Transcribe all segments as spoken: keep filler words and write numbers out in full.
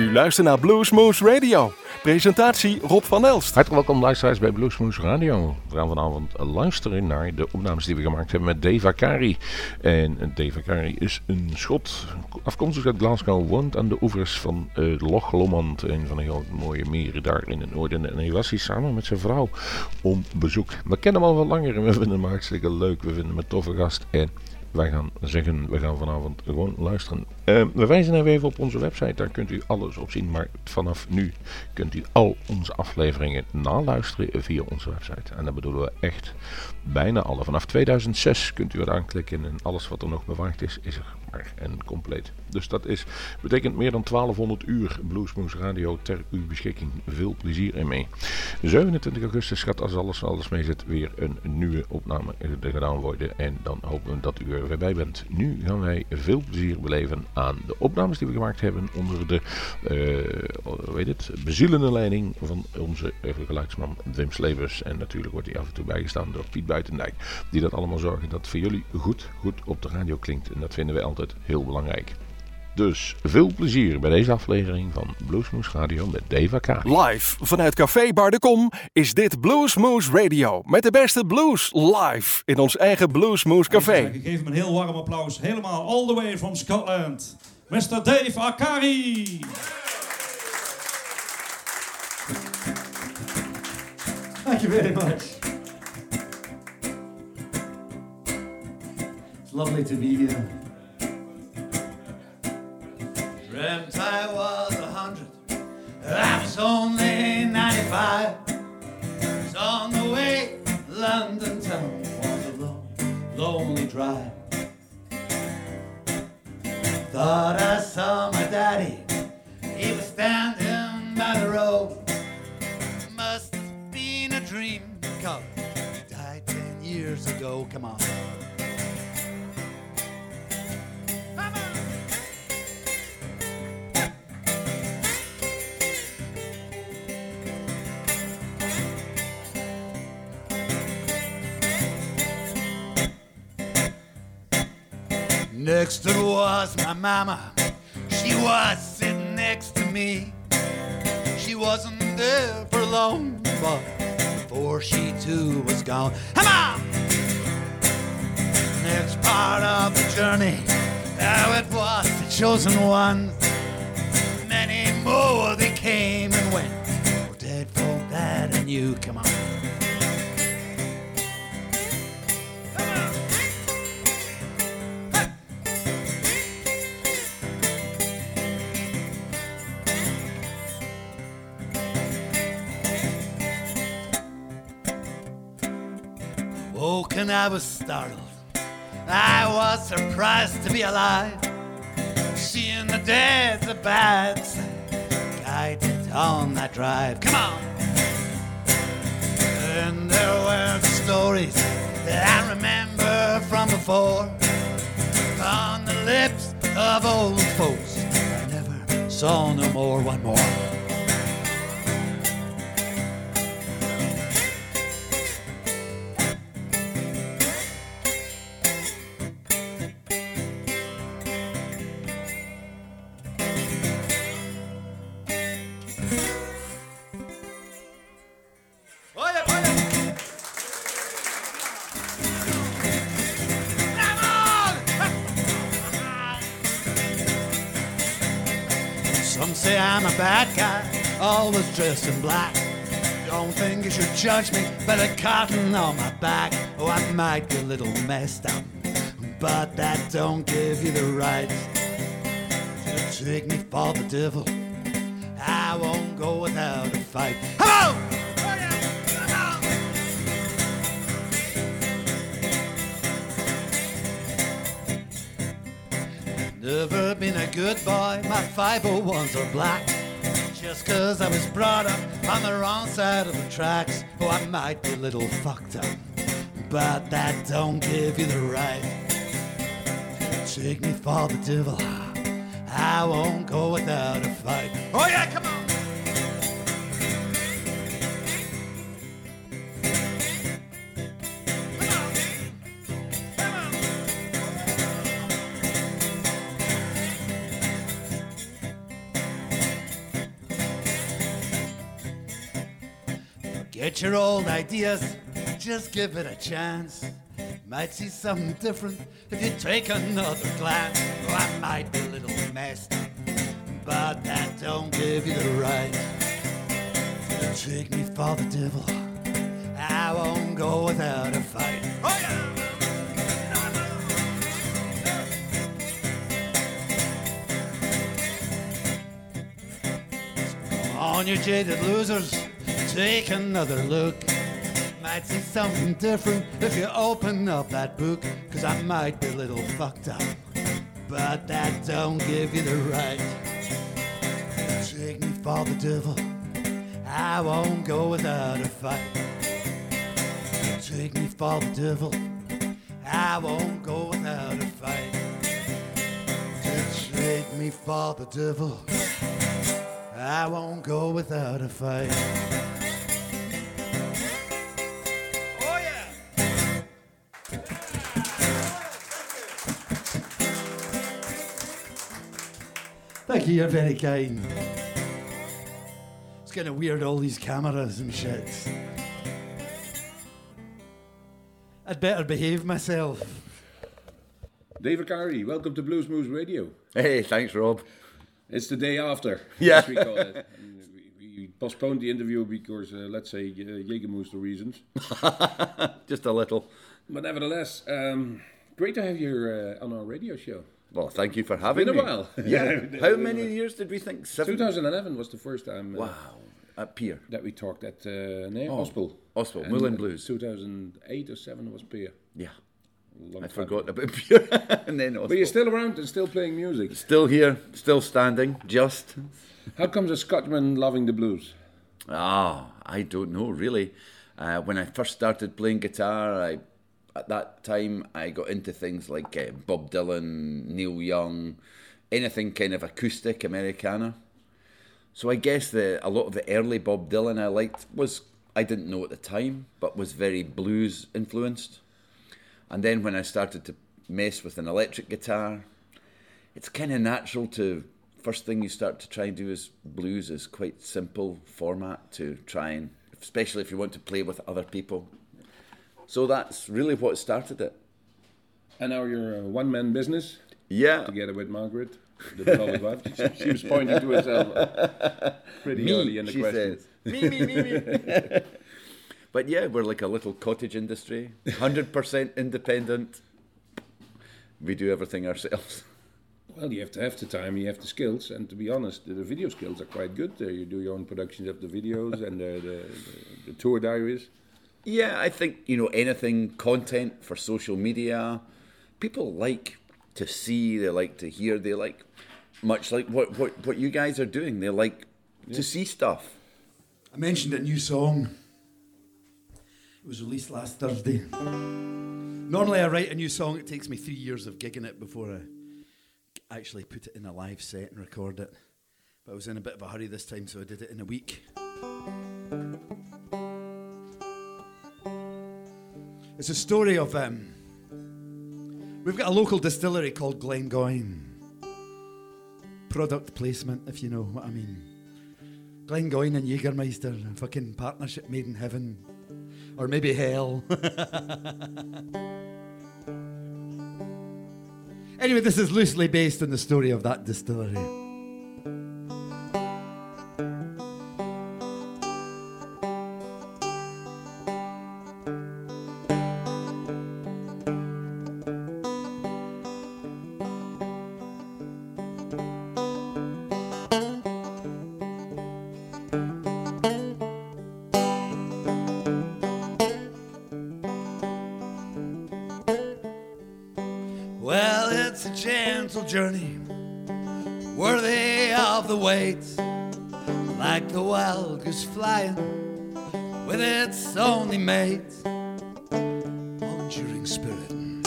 U luistert naar Bluesmoose Radio. Presentatie Rob van Elst. Hartelijk welkom luisteraars bij Bluesmoose Radio. We gaan vanavond luisteren naar de opnames die we gemaakt hebben met Dave Akari. En Dave Akari is een Schot, afkomstig uit Glasgow, woont aan de oevers van uh, Loch Lomond, een van de heel mooie meren daar in het noorden. En hij was hier samen met zijn vrouw om bezoek. We kennen hem al wat langer en we vinden hem hartstikke leuk. We vinden hem een toffe gast en wij gaan zeggen, we gaan vanavond gewoon luisteren. Uh, we wijzen even, even op onze website, daar kunt u alles op zien. Maar vanaf nu kunt u al onze afleveringen naluisteren via onze website. En dat bedoelen we echt bijna alle. Vanaf tweeduizend zes kunt u er aanklikken en alles wat er nog bewaard is, is er maar en compleet. Dus dat is, betekent meer dan twaalfhonderd uur Bluesmoose Radio ter uw beschikking. Veel plezier ermee. zevenentwintig augustus gaat als alles, alles mee zit weer een nieuwe opname gedaan worden. En dan hopen we dat u er weer bij bent. Nu gaan wij veel plezier beleven aan de opnames die we gemaakt hebben onder de uh, weet het, bezielende leiding van onze geluidsman Wim Slevers. En natuurlijk wordt hij af en toe bijgestaan door Piet Buitendijk. Die dat allemaal zorgen dat voor jullie goed, goed op de radio klinkt. En dat vinden wij altijd heel belangrijk. Dus veel plezier bij deze aflevering van Bluesmoose Radio met Dave Akari. Live vanuit Café Bar de Kom is dit Bluesmoose Radio. Met de beste blues live in ons eigen Bluesmoose Café. Ik geef hem een heel warm applaus. Helemaal all the way from Scotland. mister Dave Akari. Thank you very much. It's lovely to be here. Dreamt I was a hundred, I was only ninety-five. Was on the way, London town was a long, lonely drive. Thought I saw my daddy, he was standing by the road. Must have been a dream, cause he died ten years ago, come on. Next it was my mama, she was sitting next to me. She wasn't there for long, but before she too was gone. Come on! Next part of the journey, how it was the chosen ones. Many more they came and went, oh, dead folk that I knew, come on. Woke and I was startled, I was surprised to be alive. Seeing the dead's a bad sight, guided on that drive, come on. And there were the stories that I remember from before, on the lips of old folks I never saw no more, one more. Say I'm a bad guy, always dressed in black. Don't think you should judge me by the cotton on my back. Oh, I might be a little messed up, but that don't give you the right to take me for the devil. I won't go without a fight. Hello! Never been a good boy, my five oh ones are black. Just cause I was brought up on the wrong side of the tracks. Oh, I might be a little fucked up, but that don't give you the right to take me for the devil. I won't go without a fight. Oh yeah, come on! Forget your old ideas, just give it a chance. Might see something different if you take another glance. Oh, I might be a little messed up, but that don't give you the right to take me for the devil. I won't go without a fight. Oh yeah! On you jaded losers, take another look. Might see something different if you open up that book. Cause I might be a little fucked up, but that don't give you the right to take me for the devil. I won't go without a fight. Take me for the devil. I won't go without a fight. Take me for the devil. I won't go without a fight. Oh yeah! Thank you, you're very kind. It's kind of weird, all these cameras and shit. I'd better behave myself. Dave Akari, welcome to Blues Moose Radio. Hey, thanks, Rob. It's the day after, Yeah. as we call it. And we, we postponed the interview because, uh, let's say, uh, Jägermeister reasons. Just a little. But nevertheless, um, great to have you uh, on our radio show. Well, thank you for having Been me. a while. Yeah. How many years did we think? Seven? twenty eleven was the first time uh, Wow. At Pier. that we talked at uh, nee, Oh, Ospel. Ospel, And, Moulin uh, Blues. two thousand eight or seven was Pier. Yeah. Long I time forgot ago. about Pier. And then But you're Ospel. still around and still playing music. Still here, still standing, just. How comes a Scotsman loving the blues? Ah, I don't know, really. Uh, when I first started playing guitar, I, at that time, I got into things like uh, Bob Dylan, Neil Young, anything kind of acoustic, Americana. So I guess the a lot of the early Bob Dylan I liked was, I didn't know at the time, but was very blues influenced. And then when I started to mess with an electric guitar, it's kind of natural to, first thing you start to try and do is blues is quite simple format to try and, especially if you want to play with other people. So that's really what started it. And now you're a one-man business Yeah. together with Margaret, the beloved wife. She, she was pointing to herself pretty Me, early in the she question. says. Me, me, me, me. But yeah, we're like a little cottage industry, one hundred percent independent. We do everything ourselves. Well, you have to have the time, you have the skills, and to be honest, the, the video skills are quite good. Uh, you do your own productions of the videos and the, the, the, the tour diaries. Yeah, I think, you know, anything content for social media, people like to see, they like to hear, they like, much like what, what, what you guys are doing, they like Yeah. to see stuff. I mentioned a new song. It was released last Thursday. Normally I write a new song, it takes me three years of gigging it before I actually put it in a live set and record it. But I was in a bit of a hurry this time, so I did it in a week. It's a story of, um, we've got a local distillery called Glengoyne. Product placement, if you know what I mean. Glengoyne and Jägermeister, a fucking partnership made in heaven. Or maybe hell. Anyway, this is loosely based on the story of that distillery. Well, it's a gentle journey, worthy of the wait, like the wild goose flying with its only mate, all enduring spirit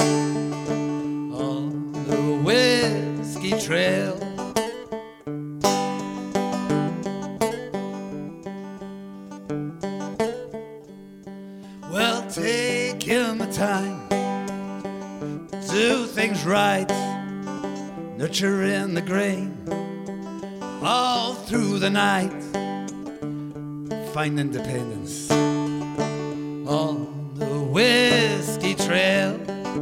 on the whiskey trail. Well, taking the time, do things right, nurturing the grain all through the night. Find independence on the whiskey trail.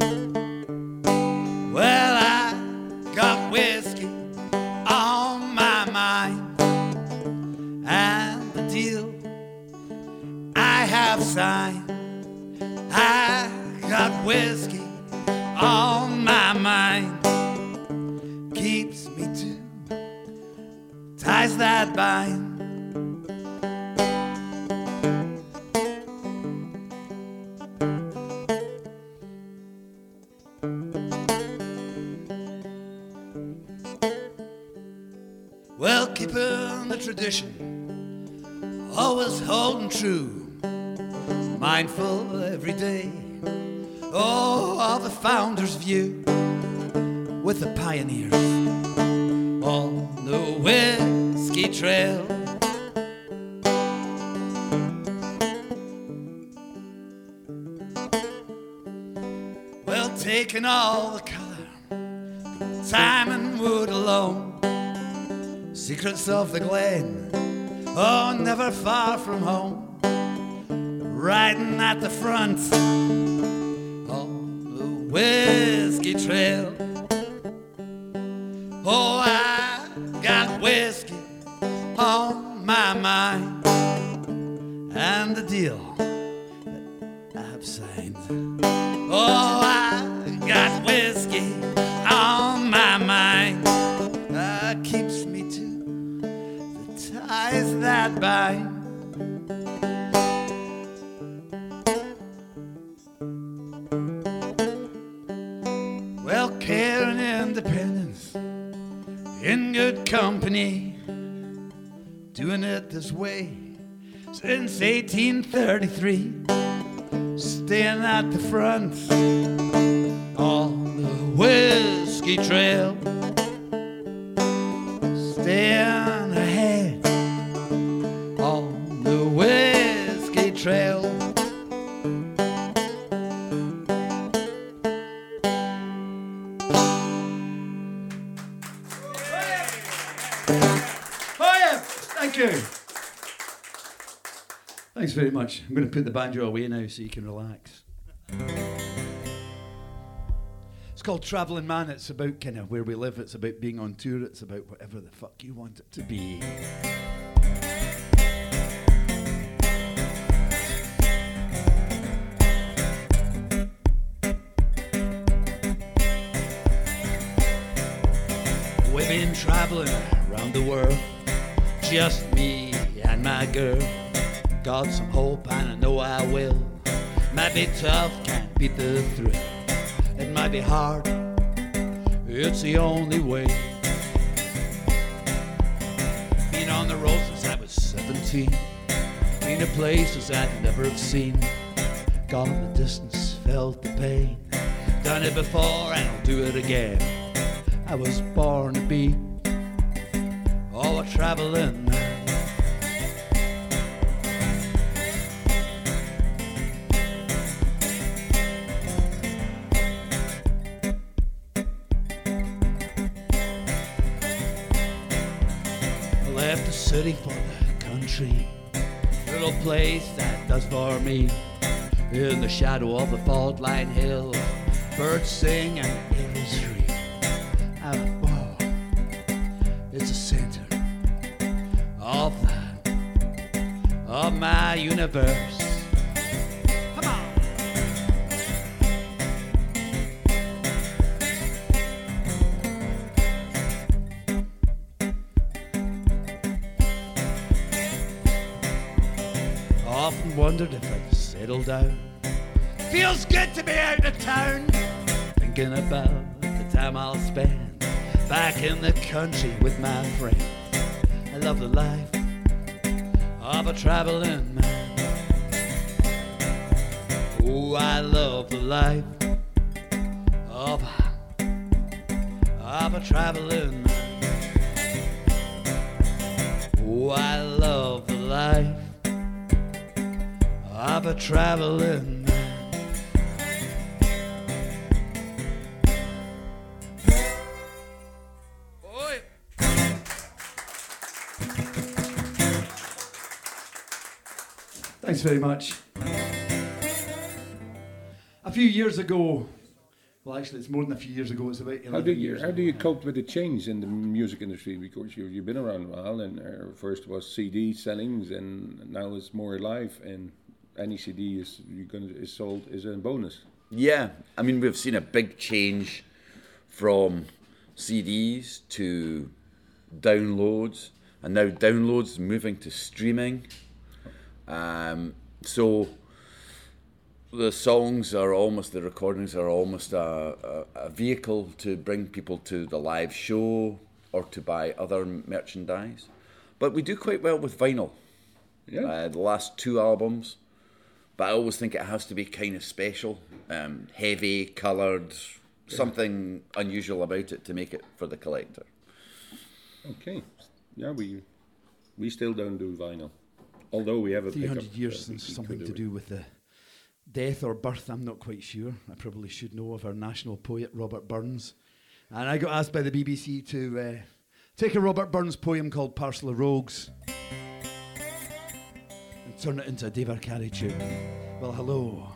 Well, I got whiskey on my mind, and the deal I have signed. I got whiskey on my mind, keeps me to ties that bind. Well, keeping the tradition, always holding true, mindful every day, oh, of the founder's view, with the pioneers on the whiskey trail. Well, taking all the color, time and wood alone, secrets of the glen, oh, never far from home, riding at the front on the whiskey trail. Oh, I got whiskey on my mind, and the deal that I've signed. Oh, I got whiskey on my mind, uh, keeps me to the ties that bind. Well, care and independence in good company, doing it this way since eighteen thirty-three, staying at the front on the whiskey trail, staying ahead on the whiskey trail. Thank you. Thanks very much. I'm going to put the banjo away now so you can relax. It's called Travelling Man. It's about kind of where we live. It's about being on tour. It's about whatever the fuck you want it to be. We've been travelling around the world, just me and my girl. Got some hope and I know I will. Might be tough, can't beat the thrill. It might be hard, it's the only way. Been on the road since I was seventeen, been to places I'd never have seen. Gone the distance, felt the pain. Done it before and I'll do it again. I was born to be, oh, a traveling man. I left the city for the country, little place that does for me. In the shadow of the fault line hill, birds sing and the air is free. Oh, it's a center of the, of my universe. Come on. Often wondered if I'd settle down. Feels good to be out of town, thinking about the time I'll spend back in the country with my friends. I love the life of a traveling man. Oh, I love the life of a, of a traveling man. Oh, I love the life of a traveling man. Thanks very much. few years ago, well, actually, it's more than a few years ago. It's about eleven How do you years how ago. do you cope with the change in the music industry? Because you you've been around a while, and uh, first was C D sellings, and now it's more live. And any C D is you gonna is sold is a bonus. Yeah, I mean, we've seen a big change from C Ds to downloads, and now downloads moving to streaming. Um, so the songs are almost, the recordings are almost a, a, a vehicle to bring people to the live show or to buy other merchandise. But we do quite well with vinyl. Yeah. Uh, the last two albums. But I always think it has to be kind of special, um, heavy, coloured, yeah. something unusual about it to make it for the collector. Okay. Yeah, we we still don't do vinyl. Although we have a three hundred pickup, years uh, since we- we something could to do do with the death or birth, I'm not quite sure. I probably should know of our national poet, Robert Burns. And I got asked by the B B C to uh, take a Robert Burns poem called Parcel of Rogues and turn it into a Dave Arcari tune. Well, hello.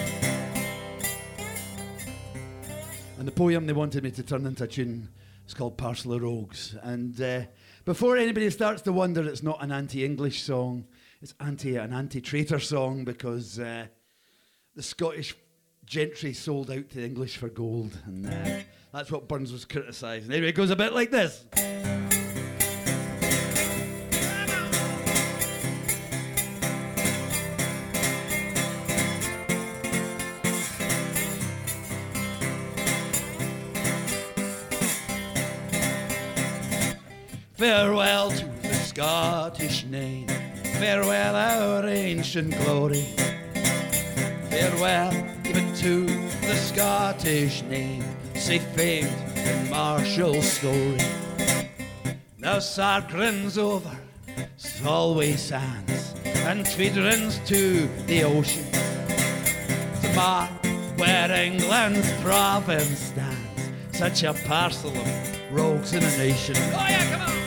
And the poem they wanted me to turn into a tune is called Parcel of Rogues. And uh, before anybody starts to wonder, it's not an anti-English song. It's anti an anti-traitor song because uh, the Scottish gentry sold out to English for gold, and uh, that's what Burns was criticising. Anyway, it goes a bit like this. Farewell to the Scottish name, farewell our ancient glory. Farewell even to the Scottish name, say famed in Marshall's story. Now Sarkrin's over, Solway sands, and Tweedrin's to the ocean, to mark where England's province stands, such a parcel of rogues in a nation. Oh yeah, come on!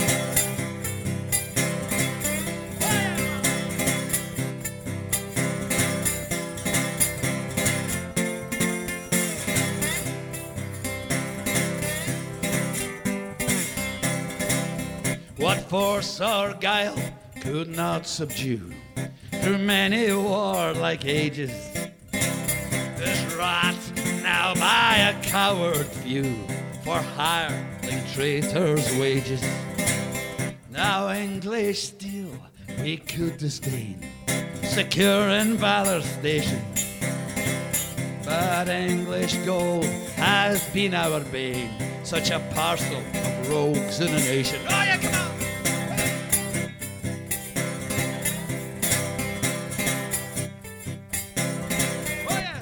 What force or guile could not subdue through many warlike ages is wrought now by a coward few for hireling traitors' wages. Now English steel we could disdain, secure in valor's station, but English gold has been our bane, such a parcel of rogues in a nation. Oh yeah, come on! Oh yeah!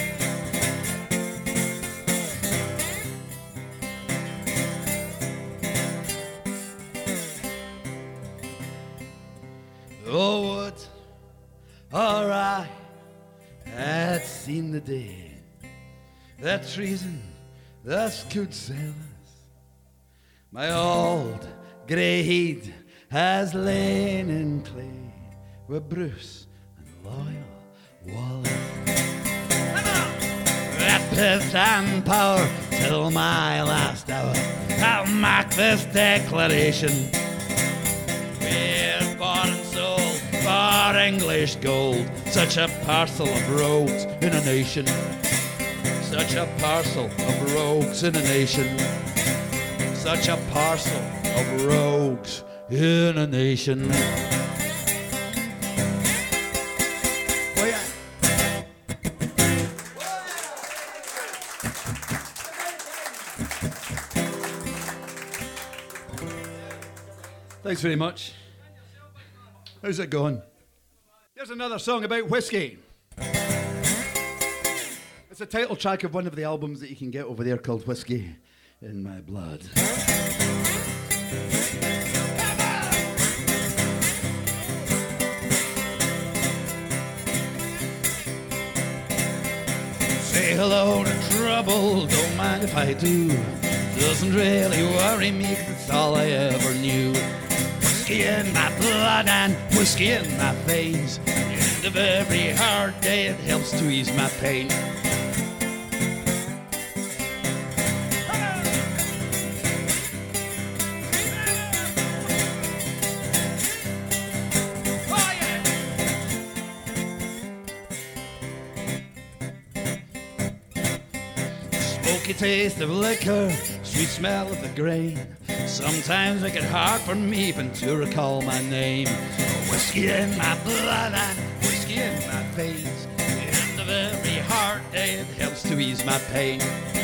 Oh, would or I had seen the day that treason thus could sell us. My old grey head has lain in clay with Bruce and loyal Wallace. Rapid and power till my last hour, I'll mark this declaration. We're bought and sold for English gold, such a parcel of rogues in a nation. Such a parcel of rogues in a nation. Such a parcel of rogues in a nation. Oh yeah. Thanks very much. How's it going? Here's another song about whiskey. It's a title track of one of the albums that you can get over there called Whiskey in My Blood. Say hello to trouble, don't mind if I do. Doesn't really worry me, 'cause it's all I ever knew. Whiskey in my blood and whiskey in my veins. At the end of every hard day, it helps to ease my pain. smoky taste of liquor, sweet smell of the grain. Sometimes make it hard for me even to recall my name. Whiskey in my blood and whiskey in my veins. In the very hard day it helps to ease my pain.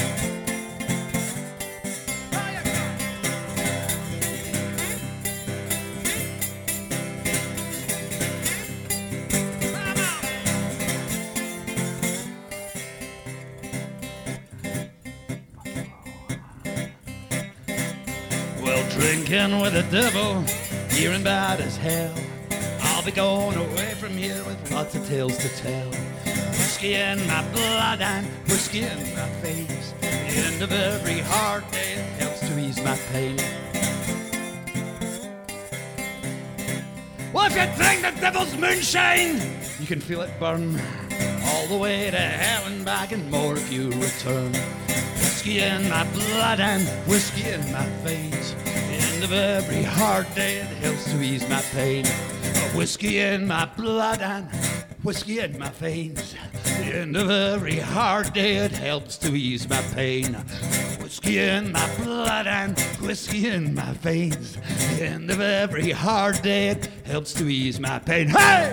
Drinking with the devil, here and bad as hell. I'll be going away from here with lots of tales to tell. Whiskey in my blood and whiskey in my veins. The end of every hard day it helps to ease my pain. Well, if you drink the devil's moonshine, you can feel it burn all the way to hell and back and more if you return. Whiskey in my blood and whiskey in my veins. The end of every hard day it helps to ease my pain. Whiskey in my blood and whiskey in my veins. The end of every hard day it helps to ease my pain. Whiskey in my blood and whiskey in my veins. The end of every hard day it helps to ease my pain. Hey!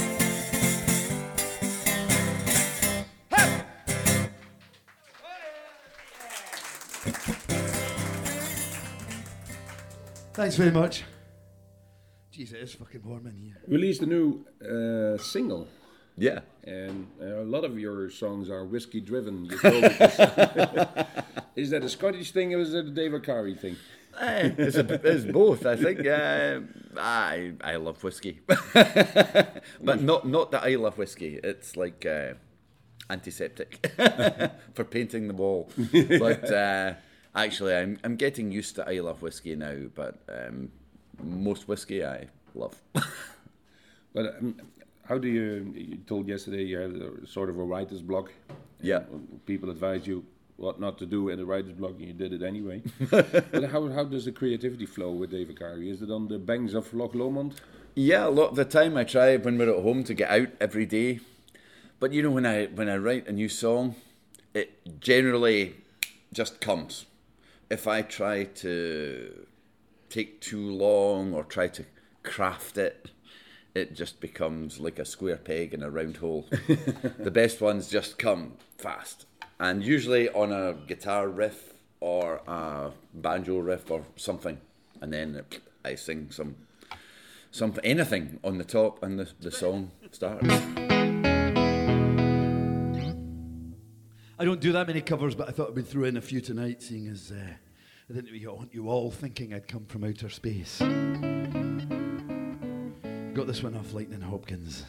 Thanks very much. Jeez, it is fucking warm in here. Released a new uh, single. Yeah. And uh, a lot of your songs are whiskey driven. You told me this. Is that a Scottish thing or is it a Dave Akari thing? Uh, it's, a, it's both, I think. Uh, I I love whiskey, but not not that I love whiskey. It's like uh, antiseptic for painting the wall. But uh, actually, I'm I'm getting used to I love whiskey now. But um, most whiskey I love. But um, how do you? You told yesterday you had a, sort of a writer's block. Yeah. People advise you what not to do in a writer's block, and you did it anyway. But how how does the creativity flow with Dave Akari? Is it on the banks of Loch Lomond? Yeah, a lot of the time I try when we're at home to get out every day. But you know, when I when I write a new song, it generally just comes. If I try to take too long or try to craft it, it just becomes like a square peg in a round hole. The best ones just come fast. And usually on a guitar riff or a banjo riff or something. And then I sing some, some anything on the top and the, the song starts. I don't do that many covers, but I thought I'd throw in a few tonight, seeing as uh, I didn't want you all thinking I'd come from outer space. Got this one off Lightning Hopkins.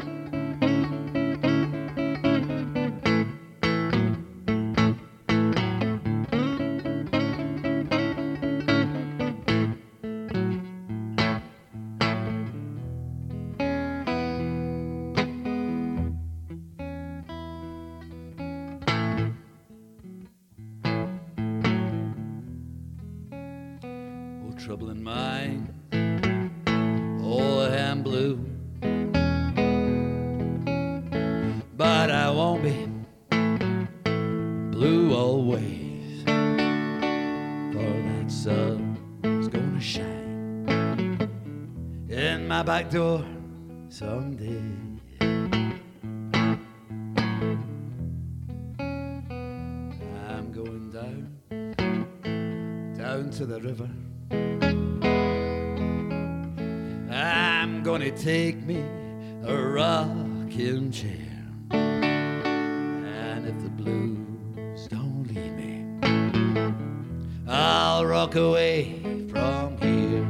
Trouble in mind, oh, I'm blue, but I won't be blue always, for that sun's gonna shine in my back door someday. I'm going down, down to the river. I'm gonna take me a rocking chair, and if the blues don't leave me, I'll rock away from here.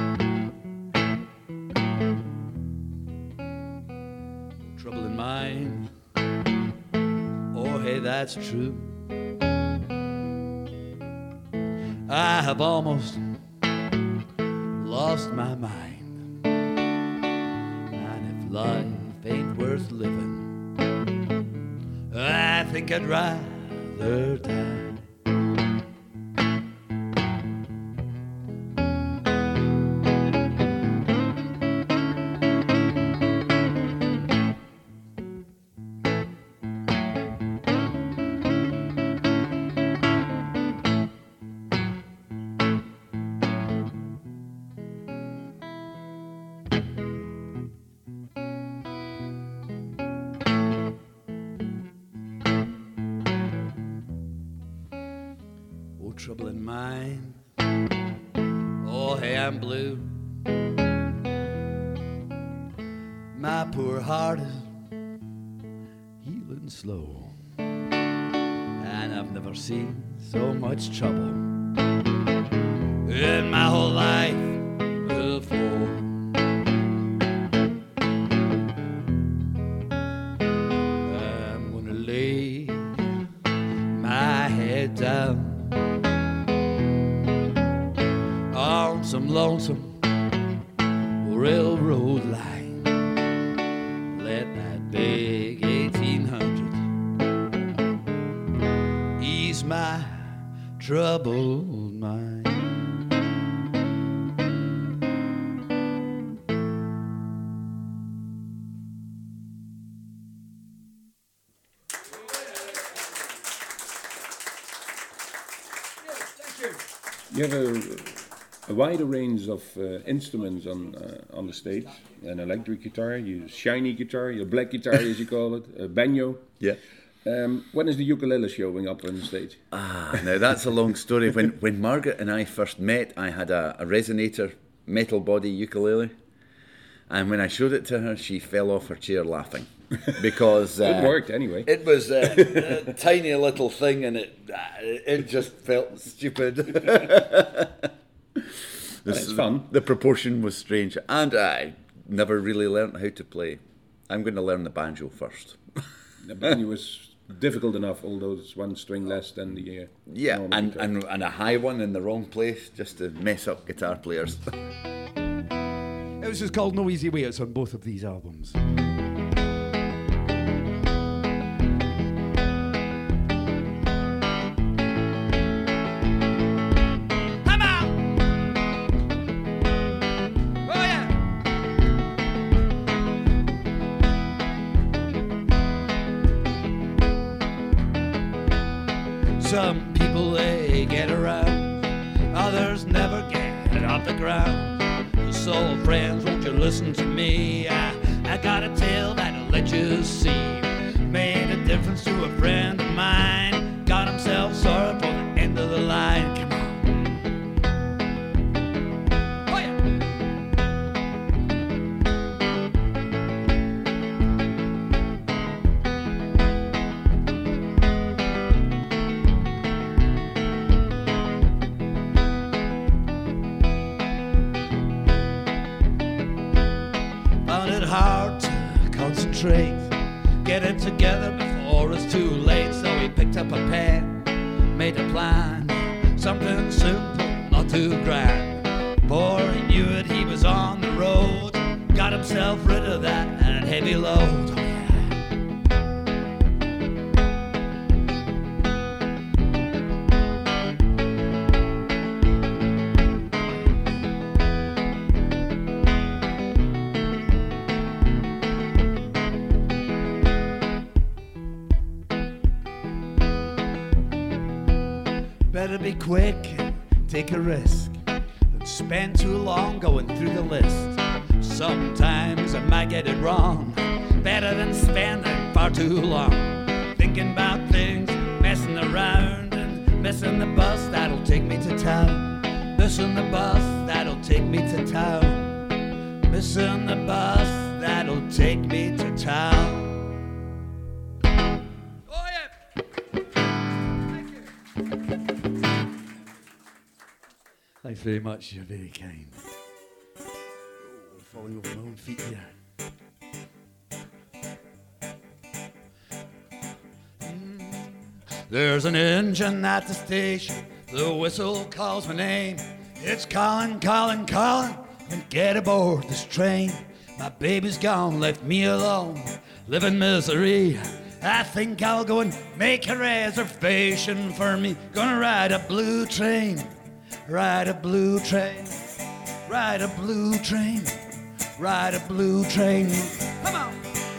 Trouble in mind, oh hey, that's true. I have almost lost my mind. Life ain't worth living, I think I'd rather die. troubled mind. Oh, hey, I'm blue. My poor heart is healing slow, and I've never seen so much trouble in my whole life before. I'm gonna lay my head down on some lonesome railroad line. Let that big eighteen hundred ease my troubled mind. You have a, a wider range of uh, instruments on uh, on the stage. An electric guitar, you shiny guitar, your black guitar as you call it, a banjo. Yeah. Um, when is the ukulele showing up on the stage? Ah, now that's a long story. When when Margaret and I first met, I had a, a resonator metal body ukulele, and when I showed it to her, she fell off her chair laughing because uh, it worked anyway. It was a, a tiny little thing, and it it just felt stupid. That's fun. The proportion was strange, and I never really learned how to play. I'm going to learn the banjo first. The banjo was difficult enough, although it's one string less than the uh, yeah, normal and, guitar. and and a high one in the wrong place just to mess up guitar players. It was just called No Easy Way. It's on both of these albums. Some people, they get around, others never get off the ground. So friends, won't you listen to me? I, I got a tale that'll let you see. Made a difference to a friend of mine. Got himself sorry for the end of the line. Come on. Oh yeah. Hard to concentrate, get it together before it's too late. So he picked up a pen, made a plan, something simple, not too grand. Before he knew it, he was on the road, got himself rid of that heavy load. Better be quick, take a risk, than spend too long going through the list. Sometimes I might get it wrong, better than spending far too long thinking about things, messing around and missing the bus that'll take me to town. Missing the bus that'll take me to town. Missing the bus that'll take me to town. Thanks very much, you're very kind. Oh, I'm falling over my own feet here. Mm. There's an engine at the station, the whistle calls my name. It's calling, calling, calling, and get aboard this train. My baby's gone, left me alone, live in misery. I think I'll go and make a reservation for me. Gonna ride a blue train. Ride a blue train, ride a blue train, ride a blue train. Come on!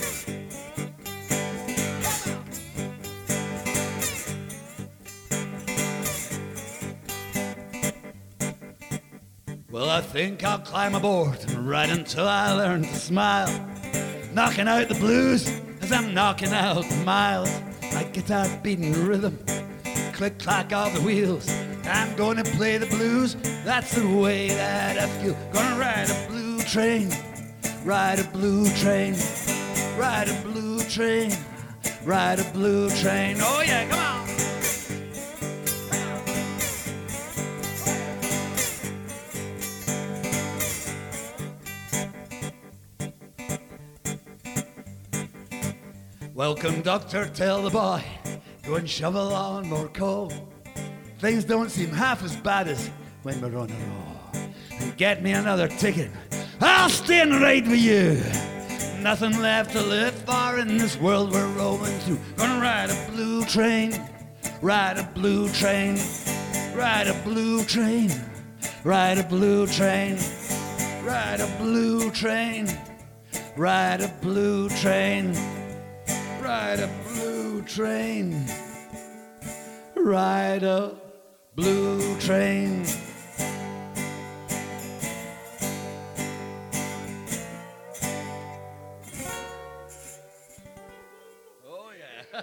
Well, I think I'll climb aboard and ride until I learn to smile. Knocking out the blues as I'm knocking out the miles. My guitar beating the rhythm, click-clack of the wheels. I'm gonna play the blues, that's the way that I feel. Gonna ride a blue train, ride a blue train, ride a blue train, ride a blue train. Oh yeah, come on! Welcome, doctor, tell the boy, go and shovel on more coal. Things don't seem half as bad as when we're on a roll. Get me another ticket, I'll stand right with you. Nothing left to live for in this world we're rolling through. Gonna ride a blue train, ride a blue train, ride a blue train, ride a blue train, ride a blue train, ride a blue train, ride a blue train, ride a blue train. Oh yeah.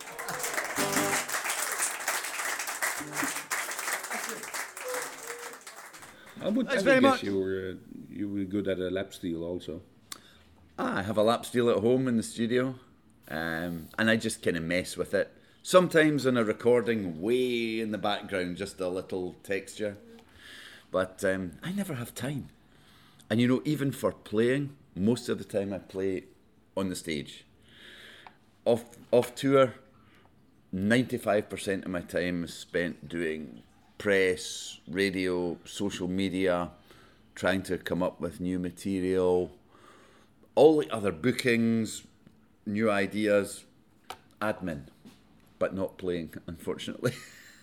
I would Thanks I very guess much. you were uh, you were good at a lap steel also. Ah, I have a lap steel at home in the studio, um, and I just kind of mess with it. Sometimes in a recording, way in the background, just a little texture. But um, I never have time. And you know, even for playing, most of the time I play on the stage. Off off tour, ninety-five percent of my time is spent doing press, radio, social media, trying to come up with new material, all the other bookings, new ideas, admin, but not playing, unfortunately.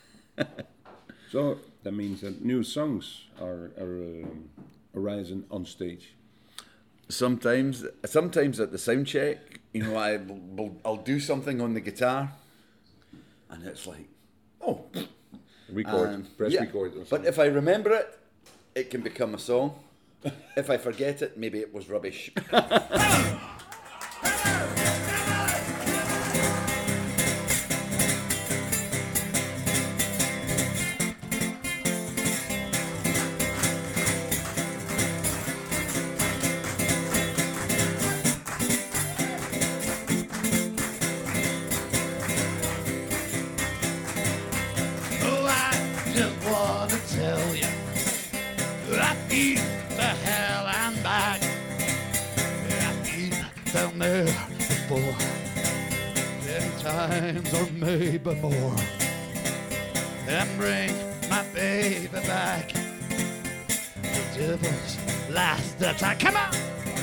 So that means that new songs are, are um, arising on stage. Sometimes, sometimes at the sound check, you know, I will, I'll do something on the guitar, and it's like, oh, Record, um, press yeah. record. Or But something. if I remember it, it can become a song. If I forget it, maybe it was rubbish. Oh, I just want to tell you, I've been to hell and back. I've been down there before, ten times or maybe more. And bring my baby back. The devil's last attack. Come on!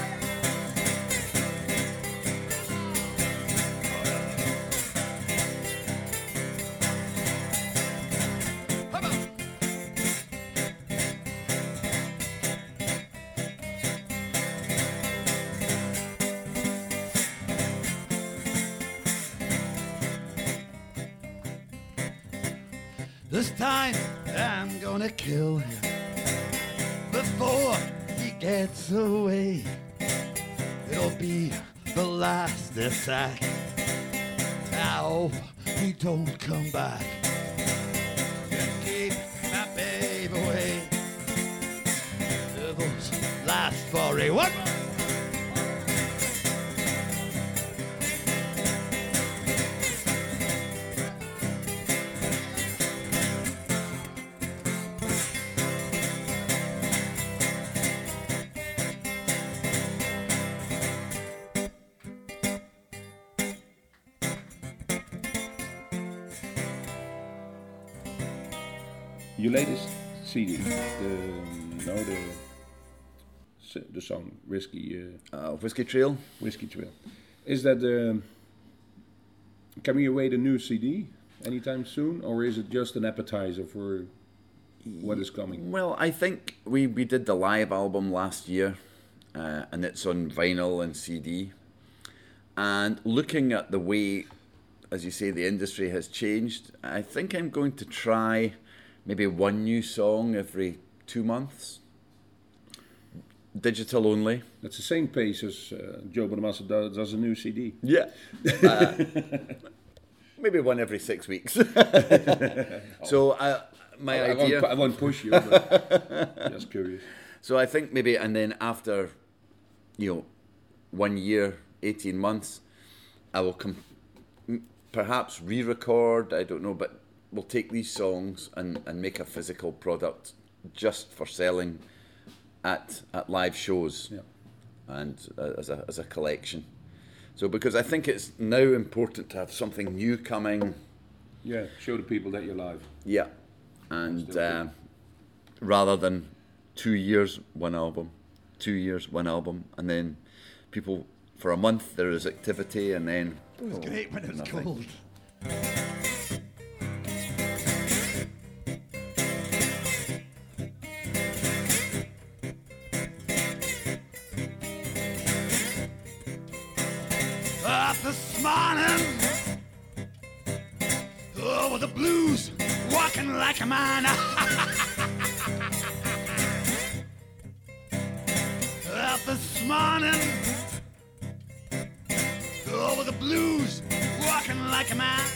Come on! This time I'm gonna kill him before he gets away. It'll be the last attack. I hope he don't come back. And keep my babe away. Devil's last foray. One more. Your latest C D, the no the s- the song Whiskey uh, Uh, Whiskey Trail. Whiskey Trail, is that um, can we await a new C D anytime soon, or is it just an appetizer for what is coming? Well, I think we, we did the live album last year, uh, and it's on vinyl and C D. And looking at the way, as you say, the industry has changed, I think I'm going to try maybe one new song every two months. Digital only. That's the same pace as uh, Joe Bonamassa does, does a new C D. Yeah. Uh, maybe one every six weeks. So I, my I, I idea. Won't, I won't push you, but just curious. So I think maybe, and then after, you know, one year, eighteen months, I will com- perhaps re-record, I don't know, but we'll take these songs and, and make a physical product just for selling at at live shows, yeah. and uh, as a as a collection. So because I think it's now important to have something new coming. Yeah, show the people that you're live. Yeah, and uh, rather than two years, one album, two years, one album, and then people for a month there is activity, and then It was great when it was nothing. cold. Up this morning, oh, with the blues, walking like a man. Up this morning, oh, with the blues, walking like a man.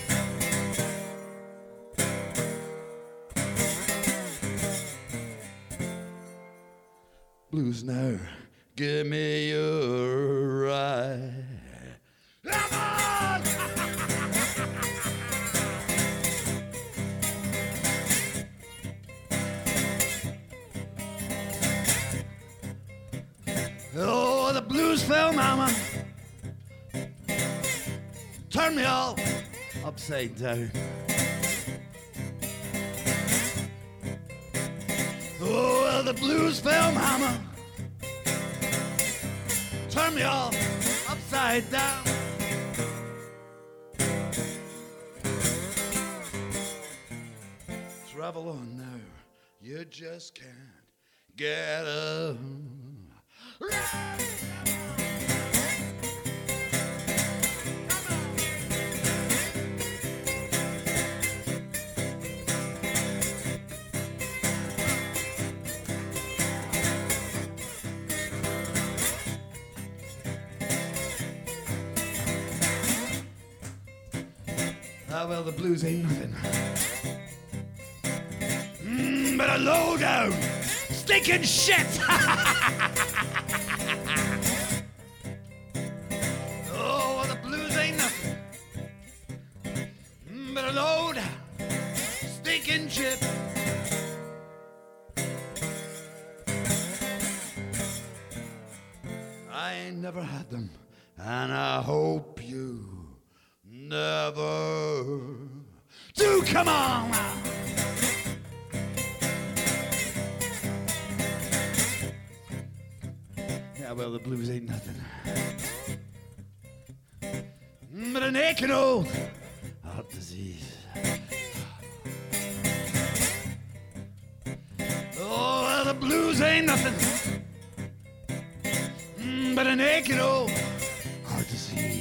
Blues now, give me your ride. Come on! Oh, the blues fell, mama. Turn me all upside down. Oh, well, the blues fell, mama. Turn me all upside down. Travel on now, you just can't get up. Ah, well, the blues ain't nothing. Mm, but a low down, stinking shit. Oh, well, the blues ain't nothing. Mm, but a low down, stinking shit. I ain't never had them, and I hope you never do. Come on now. Yeah, well, the blues ain't nothing but an aching old heart disease. Oh, well, the blues ain't nothing but an aching old heart disease.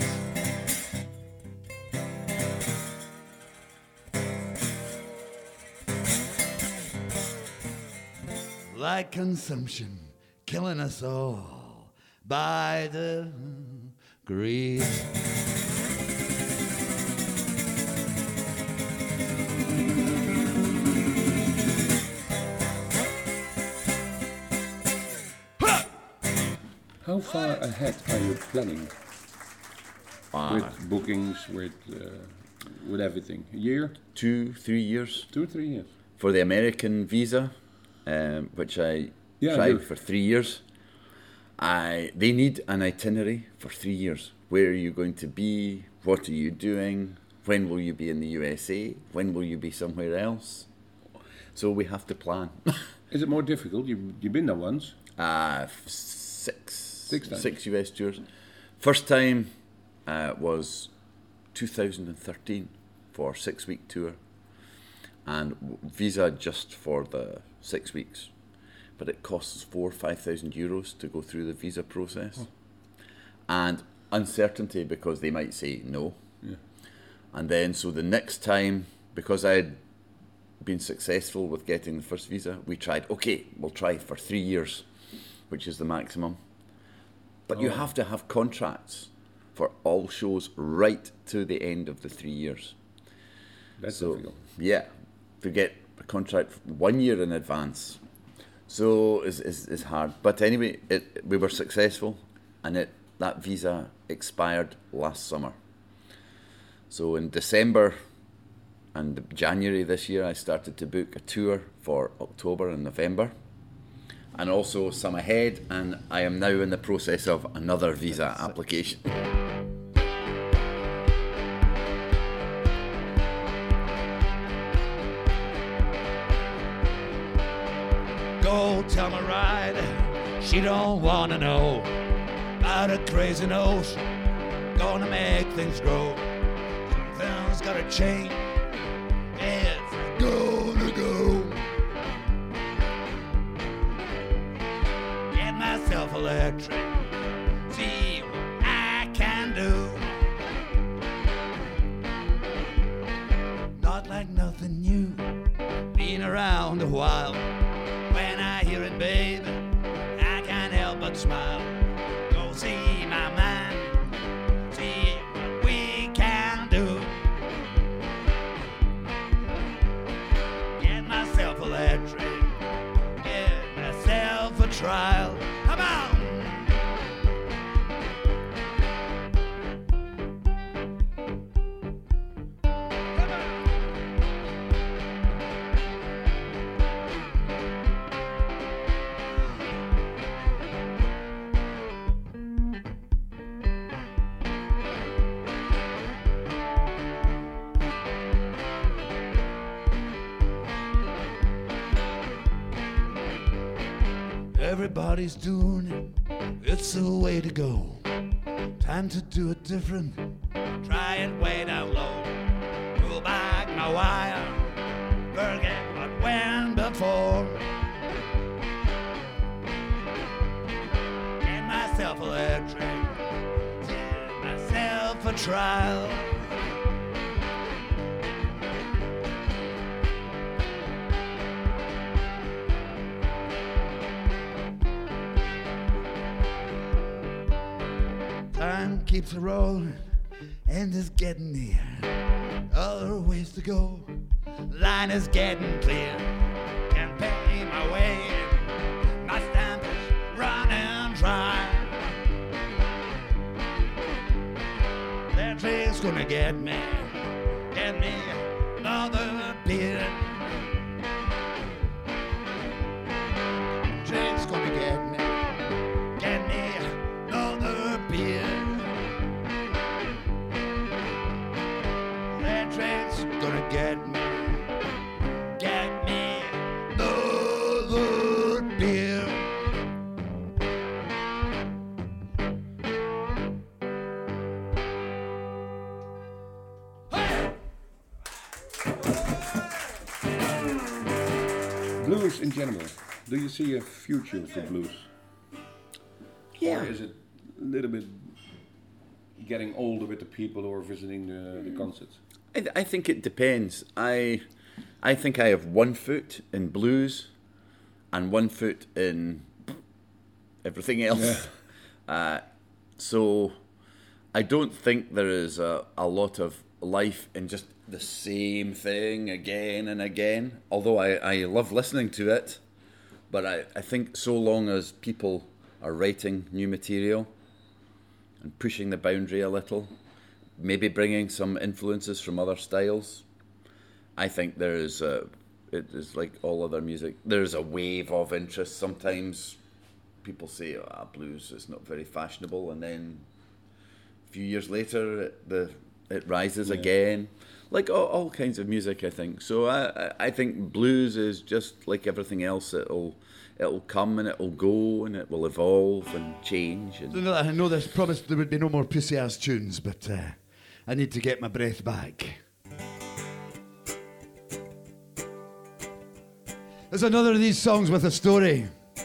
Like consumption, killing us all by the greed. How far ahead are you planning Ah, with bookings, with uh, with everything? A year, two, three years two or three years? for the American visa, um, which I Yeah, I tried do. for three years. I they need an itinerary for three years. Where are you going to be? What are you doing? When will you be in the U S A? When will you be somewhere else? So we have to plan. Is it more difficult? You you've been there once. Uh, f- six, Six times. six U S tours. First time uh, was two thousand thirteen for a six-week tour, and w- visa just for the six weeks, but it costs four, five thousand euros to go through the visa process, Oh. and uncertainty because they might say no, Yeah. and then so the next time, because I had been successful with getting the first visa, we tried, okay, we'll try for three years, which is the maximum. But you Oh. have to have contracts for all shows right to the end of the three years. That's So, difficult. yeah, to get a contract one year in advance. So it's, it's, it's hard. But anyway, it, we were successful, and it that visa expired last summer. So in December and January this year, I started to book a tour for October and November, and also some ahead, and I am now in the process of another visa application. Go tell my ride, she don't wanna know about a crazy notion, gonna make things grow. Something's gotta change, it's gonna go. Get myself electric, see what I can do. Not like nothing new, been around a while. When I hear it, babe, I can't help but smile. Go see my mind, see what we can do. Get myself electric, get myself a trial. Come on! Everybody's doing it, it's the way to go. Time to do it different, try it way down low. Pull back my wire, forget what went before. Get myself electric, give myself a trial. Time keeps a rolling, and is getting near. Other ways to go, line is getting clear. Can't pay my way, my stamp is running dry. That train's gonna get me, get me another beer. Train's gonna get me, get me another beer. That train's gonna get me, get me another beer. Hey! Blues in general. Do you see a future for blues? Yeah. Or is it a little bit getting older with the people who are visiting the, the concerts? I, th- I think it depends. I I think I have one foot in blues and one foot in everything else. Uh, so I don't think there is a, a lot of life in just the same thing again and again, although I, I love listening to it. But I, I think so long as people are writing new material and pushing the boundary a little, maybe bringing some influences from other styles, I think there is a, it is like all other music, there's a wave of interest. Sometimes people say, ah, oh, blues is not very fashionable, and then a few years later it, the it rises yeah. again, like all, all kinds of music, I think. So I, I think blues is just like everything else. It'll it'll come and it'll go and it will evolve and change. And I know there's promised there would be no more pussy-ass tunes, but uh, I need to get my breath back. There's another of these songs with a story.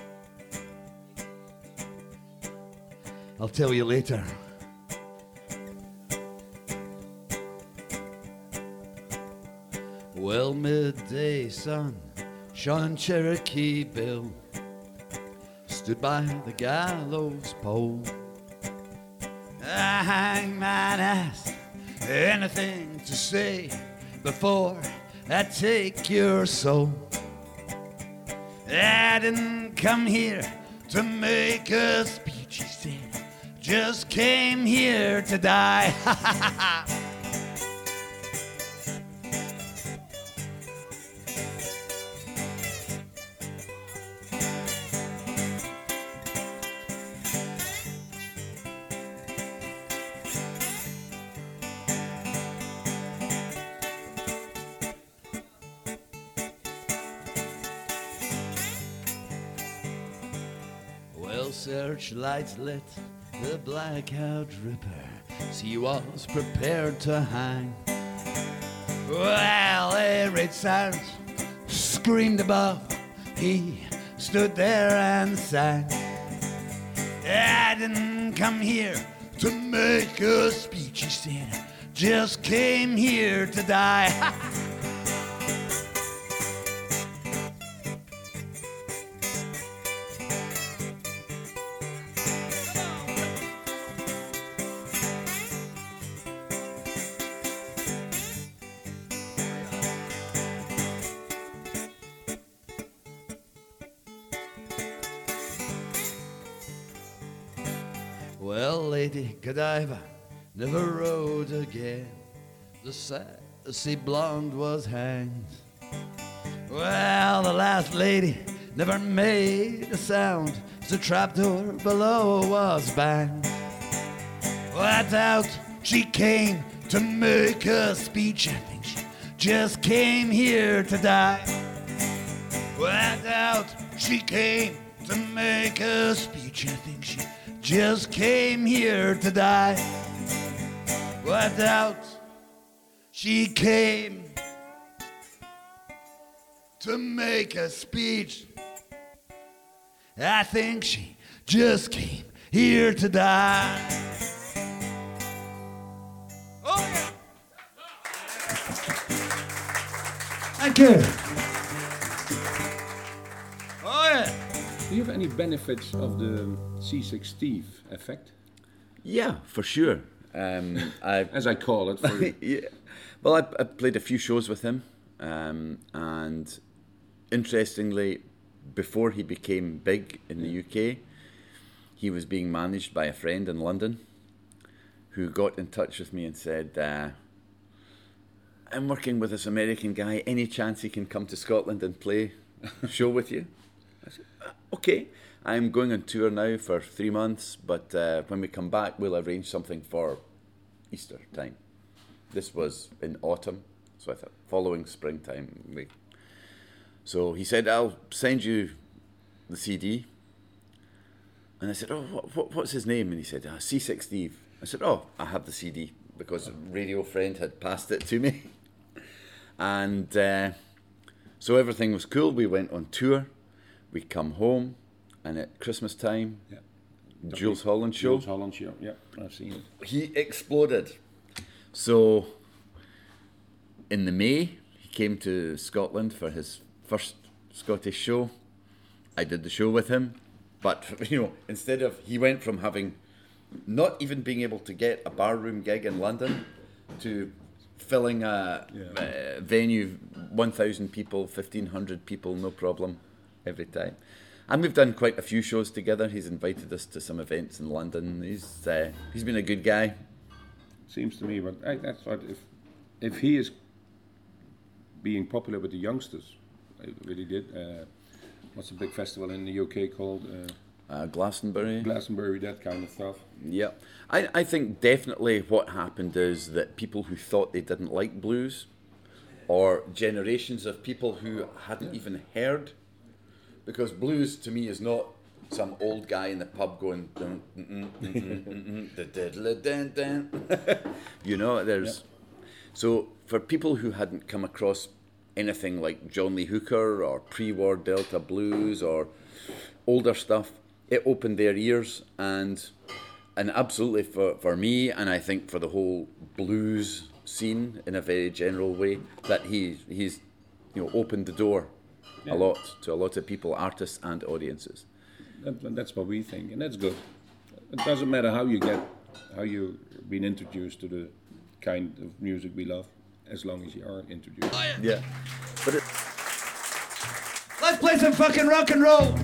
I'll tell you later. Well, midday sun, Sean Cherokee Bill stood by the gallows pole. The hangman asked anything to say before that take your soul. I didn't come here to make a speech, he said. Just came here to die. Searchlights lit the blackout ripper. She was prepared to hang. Well, every sound screamed above. He stood there and sang. I didn't come here to make a speech, he said. Just came here to die. Well, Lady Godiva never rode again. The sassy blonde was hanged. Well, the last lady never made a sound. The trapdoor below was banged. Well, I doubt she came to make a speech. I think she just came here to die. Well, I doubt she came to make a speech. I think she just came here to die. Well, I doubt she came to make a speech. I think she just came here to die. Oh, yeah. Thank you. Oh, yeah. Do you have any benefits of the Seasick Steve effect? Yeah, for sure. Um, I, As I call it. For yeah. Well, I, I played a few shows with him, um, and interestingly, before he became big in the U K, he was being managed by a friend in London who got in touch with me and said, uh, I'm working with this American guy, any chance he can come to Scotland and play a show with you? I said, okay, I'm going on tour now for three months, but uh, when we come back, we'll arrange something for Easter time. This was in autumn, so I thought following springtime. We... So he said, I'll send you the C D. And I said, oh, what, what, what's his name? And he said, ah, Seasick Steve. I said, oh, I have the C D, because a radio friend had passed it to me. And uh, so everything was cool. We went on tour. We come home, and at Christmas time, yeah. Jules Holland show. Jules Holland show, yeah, I've seen it. He exploded. So in the May, he came to Scotland for his first Scottish show. I did the show with him, but you know, instead of he went from having not even being able to get a barroom gig in London to filling a yeah. uh, venue, one thousand people, fifteen hundred people, no problem, every time. And we've done quite a few shows together. He's invited us to some events in London. He's uh, he's been a good guy. Seems to me, but I, that's what if if he is being popular with the youngsters, I really did. Uh, what's a big festival in the U K called? Uh, uh, Glastonbury. Glastonbury, that kind of stuff. Yeah, I I think definitely what happened is that people who thought they didn't like blues, or generations of people who hadn't even heard. Because blues to me is not some old guy in the pub going, dun, mm, mm, mm, mm, mm, dun, dun. You know, there's yeah. So for people who hadn't come across anything like John Lee Hooker or pre-war Delta blues or older stuff, it opened their ears, and and absolutely for, for me, and I think for the whole blues scene in a very general way, that he he's you know opened the door. Yeah. A lot to a lot of people, artists and audiences. That, that's what we think, and that's good. It doesn't matter how you get, how you've been introduced to the kind of music we love. as long as you are introduced. Yeah. But it, Let's play some fucking rock and roll.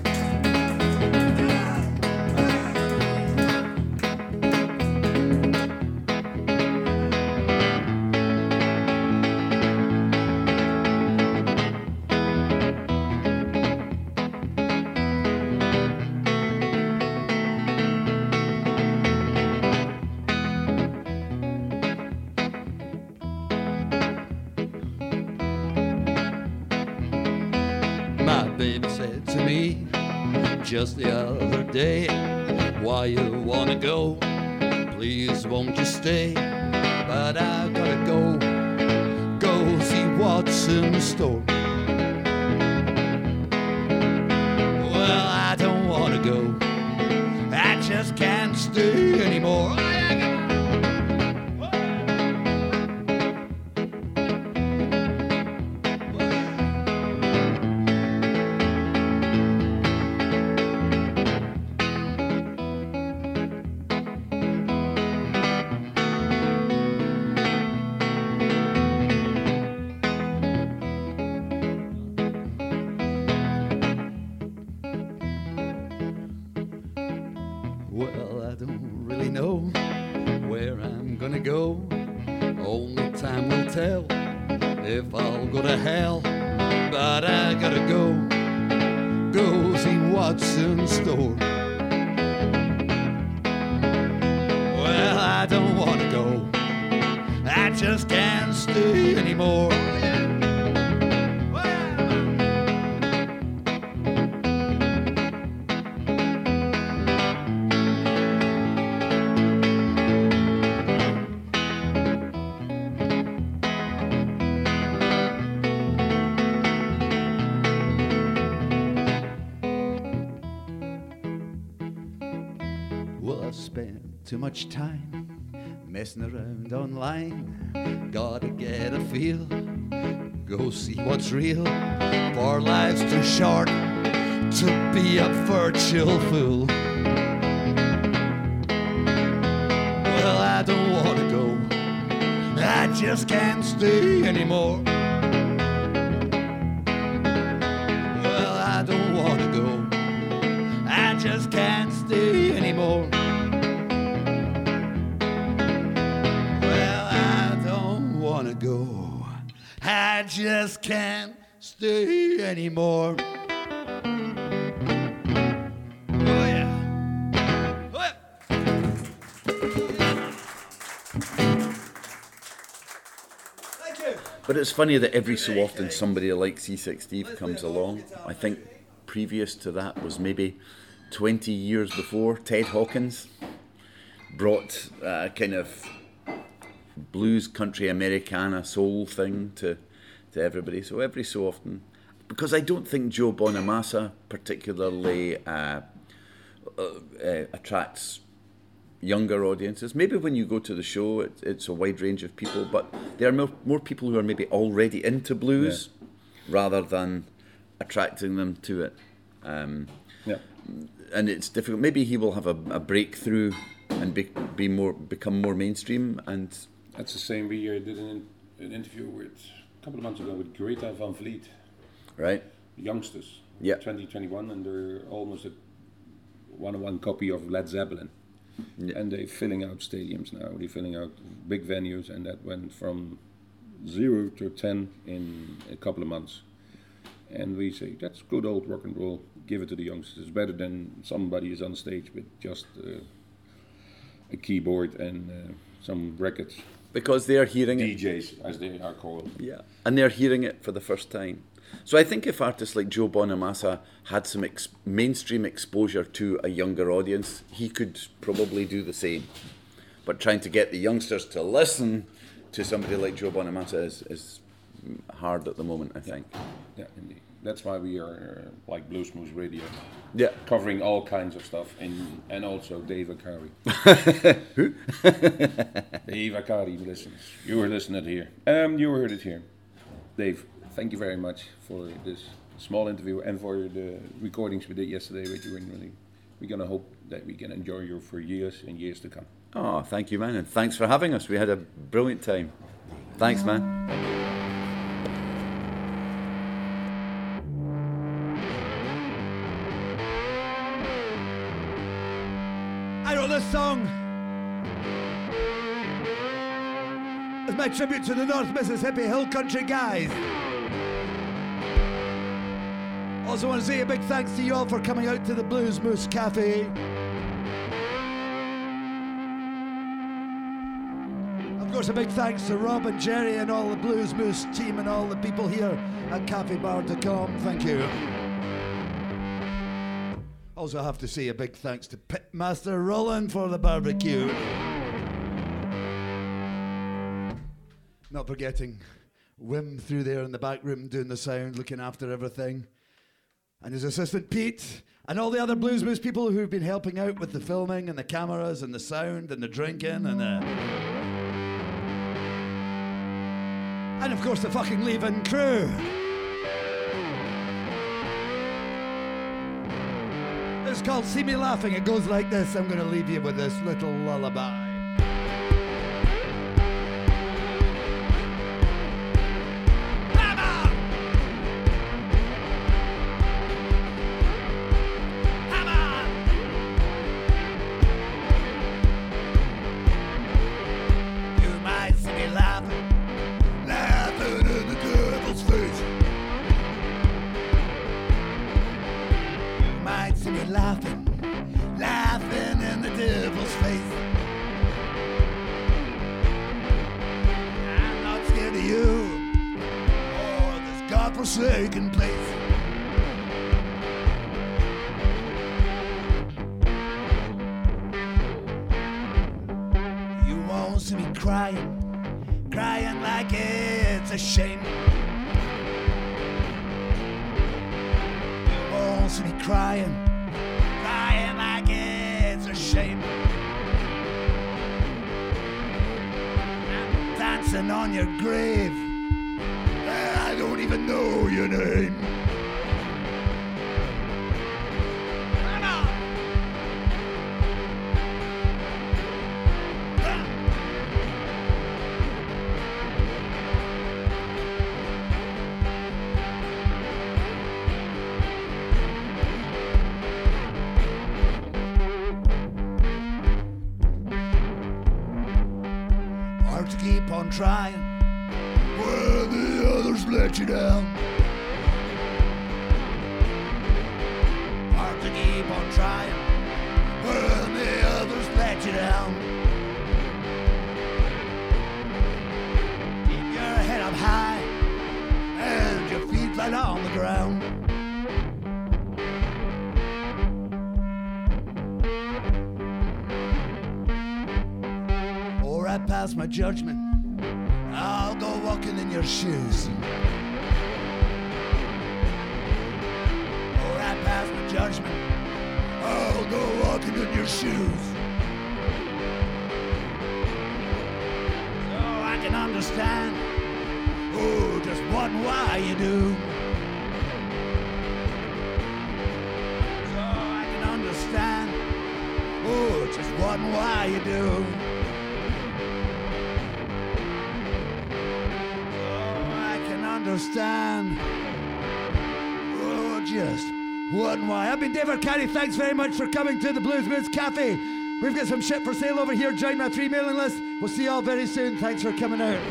My baby said to me just the other day, why you wanna go? Please won't you stay? But I gotta go, go see what's in the store. Well, I don't wanna go, I just can't stay anymore. Well, I don't really know where I'm gonna go. Only time will tell if I'll go to hell. But I gotta go, go see what's in store. Well, I don't wanna go, I just can't stay anymore. Well, I've spent too much time messing around online. Gotta get a feel, go see what's real. For life's too short to be a virtual fool. Well, I don't wanna go, I just can't stay anymore. Well, I don't wanna go, I just can't stay anymore. Well, I don't wanna go, I just can't stay anymore. Oh yeah. Oh yeah. Thank you. but it's funny that every so often somebody like Seasick Steve comes along. I think previous to that was maybe twenty years before, Ted Hawkins brought a kind of blues, country, Americana, soul thing to, to everybody. So every so often, because I don't think Joe Bonamassa particularly uh, uh, uh, attracts younger audiences. Maybe when you go to the show, it, it's a wide range of people, but there are more, more people who are maybe already into blues yeah. rather than attracting them to it. Um, yeah. And it's difficult. Maybe he will have a, a breakthrough and be, be more become more mainstream. And that's the same. We uh, did an, an interview with a couple of months ago with Greta Van Vliet, right? Youngsters, yeah, twenty twenty-one, and they're almost a one-on-one copy of Led Zeppelin, yeah. And they're filling out stadiums now. They're filling out big venues, and that went from zero to ten in a couple of months. And we say, that's good old rock and roll, give it to the youngsters. It's better than somebody is on stage with just uh, a keyboard and uh, some records. Because they're hearing D Js, it. D Js, as they are called. Yeah, and they're hearing it for the first time. So I think if artists like Joe Bonamassa had some ex- mainstream exposure to a younger audience, he could probably do the same. But trying to get the youngsters to listen to somebody like Joe Bonamassa is, is hard at the moment, I think. Yeah, indeed. That's why we are uh, like Blues Moose Radio. Yeah. Covering all kinds of stuff, and and also Dave Akari. Who? Dave Akari listens. You were listening here. Um, you heard it here. Dave, thank you very much for this small interview and for the recordings we did yesterday with you. And really, we're gonna hope that we can enjoy you for years and years to come. Oh, thank you, man, and thanks for having us. We had a brilliant time. Thanks, man. I wrote this song as my tribute to the North Mississippi Hill Country guys. Also want to say a big thanks to you all for coming out to the Blues Moose Cafe. Of course, a big thanks to Rob and Jerry and all the Blues Moose team and all the people here at cafe bar dot com. Thank you. Also have to say a big thanks to Pitmaster Roland for the barbecue. Not forgetting Wim through there in the back room doing the sound, looking after everything. And his assistant Pete, and all the other Blues Moose people who've been helping out with the filming and the cameras and the sound and the drinking and the... And of course the fucking leaving crew. It's called See Me Laughing. It goes like this. I'm going to leave you with this little lullaby. Forsaken place. You won't see me crying, crying like it's a shame. You won't see me crying, crying like it's a shame. I'm dancing on your grave. I don't even know your name. Come on. Hard to keep on trying when the others let you down. Hard to keep on trying when the others let you down. Keep your head up high and your feet flat on the ground. Or I pass my judgment, I'll go walking in your shoes. Or I pass my judgment, I'll go walking in your shoes. So I can understand, oh, just what and why you do. So I can understand, oh, just what and why you do. Understand, oh, just what and why. I've been Dave Arcari. Thanks very much for coming to the Blues Moose Cafe. We've got some shit for sale over here. Join my free mailing list. We'll see you all very soon. Thanks for coming out.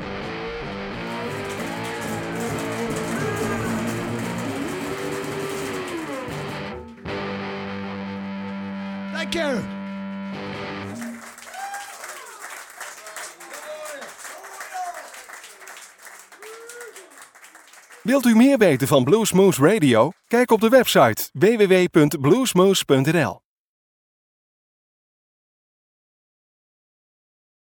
Thank you. Wilt u meer weten van Blues Moose Radio? Kijk op de website w w w punt bluesmoose punt n l.